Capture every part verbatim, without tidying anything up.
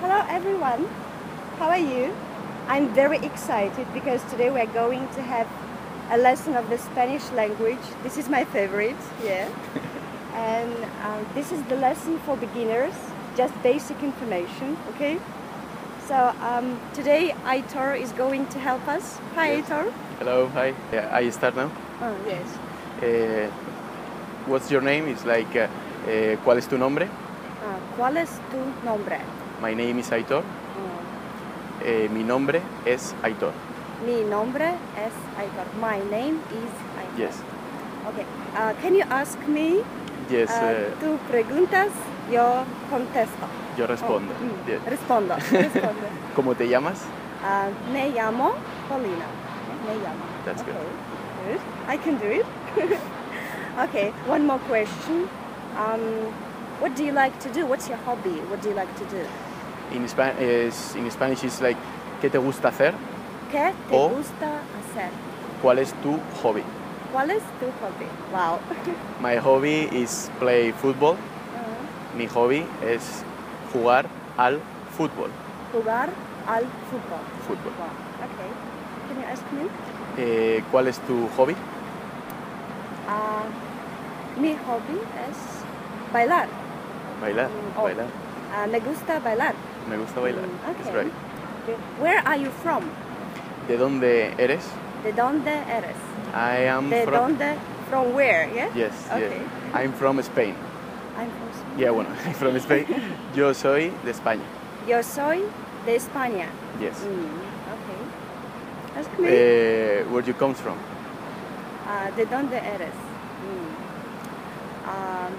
Hello everyone, how are you? I'm very excited because today we're going to have a lesson of the Spanish language. This is my favorite, yeah. And um, this is the lesson for beginners, just basic information, okay? So um, today Aitor is going to help us. Hi Yes. Aitor. Hello, hi. Yeah, I start now. Oh, yes. Uh, what's your name? It's like, uh, uh, ¿cuál es tu nombre? Uh, ¿Cuál es tu nombre? My name is Aitor. Oh. Eh, mi nombre es Aitor. Mi nombre es Aitor. My name is Aitor. Yes. Okay. Uh, can you ask me? Yes, Uh, uh, tú preguntas, yo contesto. yo respondo. Oh, mm, Yes. Respondo, respondo. ¿Cómo te llamas? Uh, me llamo Paulina. Me llamo. That's okay. good. Good. I can do it. Okay, one more question. Um, what do you like to do? What's your hobby? What do you like to do? In, Spa is, in Spanish it's like, ¿qué te gusta hacer? ¿Qué te O- gusta hacer? ¿Cuál es tu hobby? ¿Cuál es tu hobby? Wow. My hobby is play football. Uh, Mi hobby es jugar al fútbol. jugar al fútbol. Fútbol. Wow. Okay. Can you ask me? Eh, ¿Cuál es tu hobby? Uh, mi hobby es bailar. Bailar. Mm, oh. Bailar. Uh, me gusta bailar. Me gusta bailar. Mm, It's okay. right. Where are you from? ¿De dónde eres? ¿De dónde eres? I am ¿De from... dónde? From where? Yeah. Yes, Okay. yes. I'm from Spain. I'm from Spain. Yeah, bueno, I'm from Spain. Yo soy de España. Yo soy de España. Yes. Mm, okay. Ask me. Eh, where you come from? Ah, ¿de dónde eres? Mm. Ah,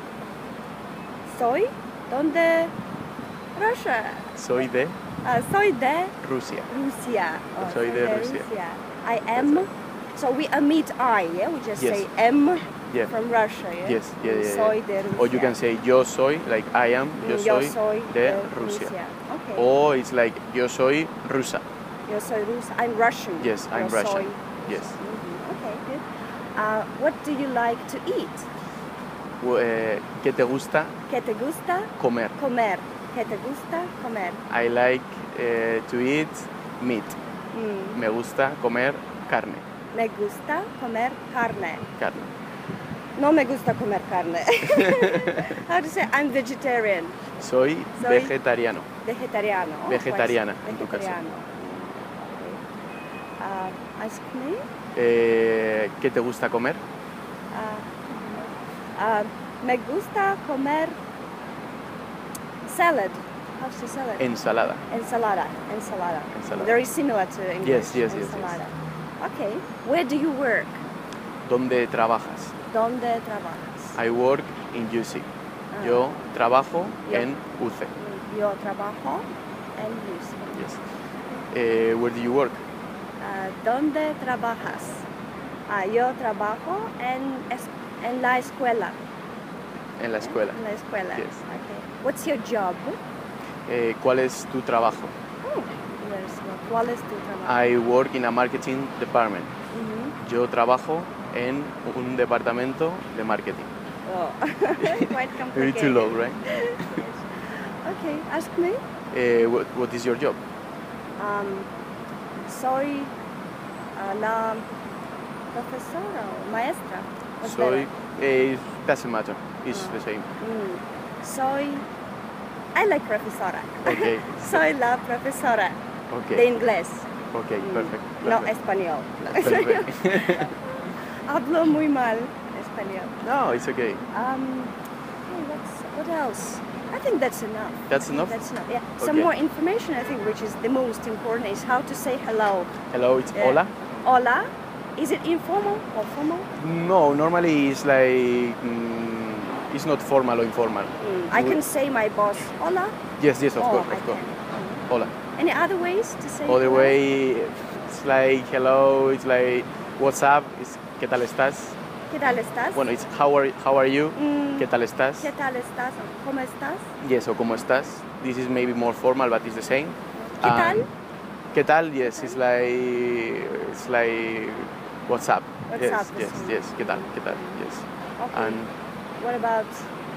soy ¿dónde? Russia. Soy de Ah, soy de Rusia. Rusia. Oh, Soy de Rusia. I am. So we omit I, yeah. We just Yes. say am Yeah. from Russia, yeah. Yes, yeah, yeah, yeah. Soy de Rusia. Or you can say yo soy, like I am, yo Mm, yo soy, soy de Rusia. Okay. Or it's like yo soy rusa. Yo soy rusa. I'm Russian. Yes, I'm Yo Russian. soy- Yes. Mhm, okay, good. Uh, what do you like to eat? Eh, ¿Qué te gusta ¿Qué te gusta comer? comer? ¿Qué te gusta comer? I like eh, to eat meat. Mm, Me gusta comer carne. me gusta comer carne. Carne. No me gusta comer carne. How to say? I'm vegetarian. Soy, Soy- vegetariano. Vegetariano. Oh, Vegetariana, pues, en tu caso. vegetariano. Okay. Uh, ask me. Eh, ¿Qué te gusta comer? Uh, uh, me gusta comer salad. How's the salad? Ensalada. Ensalada. Ensalada. Ensalada. Very similar to English. Yes, yes, yes, yes. Ensalada. Okay. Where do you work? ¿Dónde trabajas? ¿Dónde trabajas? I work in U C. Ah. Yo trabajo Yo- en U C. Yo trabajo en U C. Yes. Eh, where do you work? Ah, ¿Dónde trabajas? Ah, yo trabajo en, es- en la escuela. En la escuela. En la escuela. Yes. Okay. What's your job? Eh, ¿Cuál es tu trabajo? Oh, yes. ¿Cuál es tu trabajo? I work in a marketing department. Mhm. Yo trabajo en un departamento de marketing. Oh, quite complicated. Very too low, right? Yes. Okay, ask me. Eh, what, what is your job? Um, soy ah, la profesora o maestra. What's Soy. better? Eh, doesn't matter. It's Ah. the same. Mm, soy. I like profesora. Okay. Soy la profesora de Okay. inglés. Okay. Mm, Perfect. No perfect. español. No español. Perfect. Hablo muy mal español. No, it's okay. Um, hey, what's, what else? I think that's enough. That's I think enough? That's enough. Yeah. Some Okay. more information, I think, which is the most important, is how to say hello. Hello, it's Yeah. hola. Hola. Is it informal or formal? No, normally it's like mm, it's not formal or informal. Mm, I We- can say my boss hola. Yes, yes, of Oh, course, I of course. can. Mm. Hola. Any other ways to say Other hello? way, it's like hello. It's like what's up. It's ¿qué tal estás? ¿Qué tal estás? Bueno, it's how are how are you? Mm, ¿Qué tal estás? ¿Qué tal estás? ¿Cómo estás? Yes, o cómo estás. This is maybe more formal, but it's the same. ¿Qué And tal? ¿Qué tal? Yes, it's like it's like what's up. What's yes, up, yes, that's- yes. ¿Qué tal? ¿Qué tal? Yes. Okay. And What about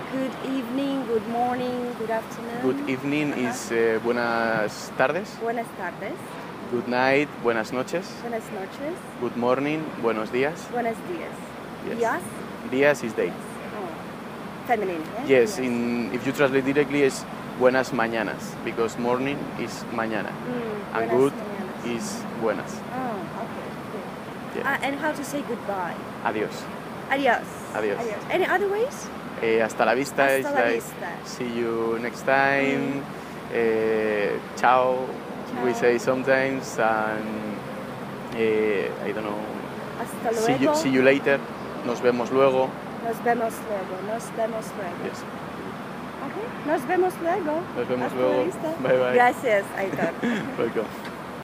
good evening, good morning, good afternoon. Good evening Uh-huh. is uh, buenas tardes. Buenas tardes. Good night, buenas noches. Buenas noches. Good morning, buenos días. Buenos días. Yes. Días. Días is day. Oh. Feminine. Yeah? Yes, in, if you translate directly, is buenas mañanas, because morning is mañana, Mm, and buenas good mañanas. is buenas. Oh, okay. Good. Yeah. Uh, and how to say goodbye? Adiós. Adios. Adios. Any other ways? Eh, hasta la vista Hasta is la like vista. see you next time. Eh, ciao, we Ciao. say sometimes, and eh, I don't know. Hasta See you, luego. see you later. Nos vemos luego. Nos vemos luego. Nos vemos luego. Yes. Okay. Nos vemos luego. Nos vemos Hasta luego. la vista. Bye bye. Gracias, Aitor. Welcome.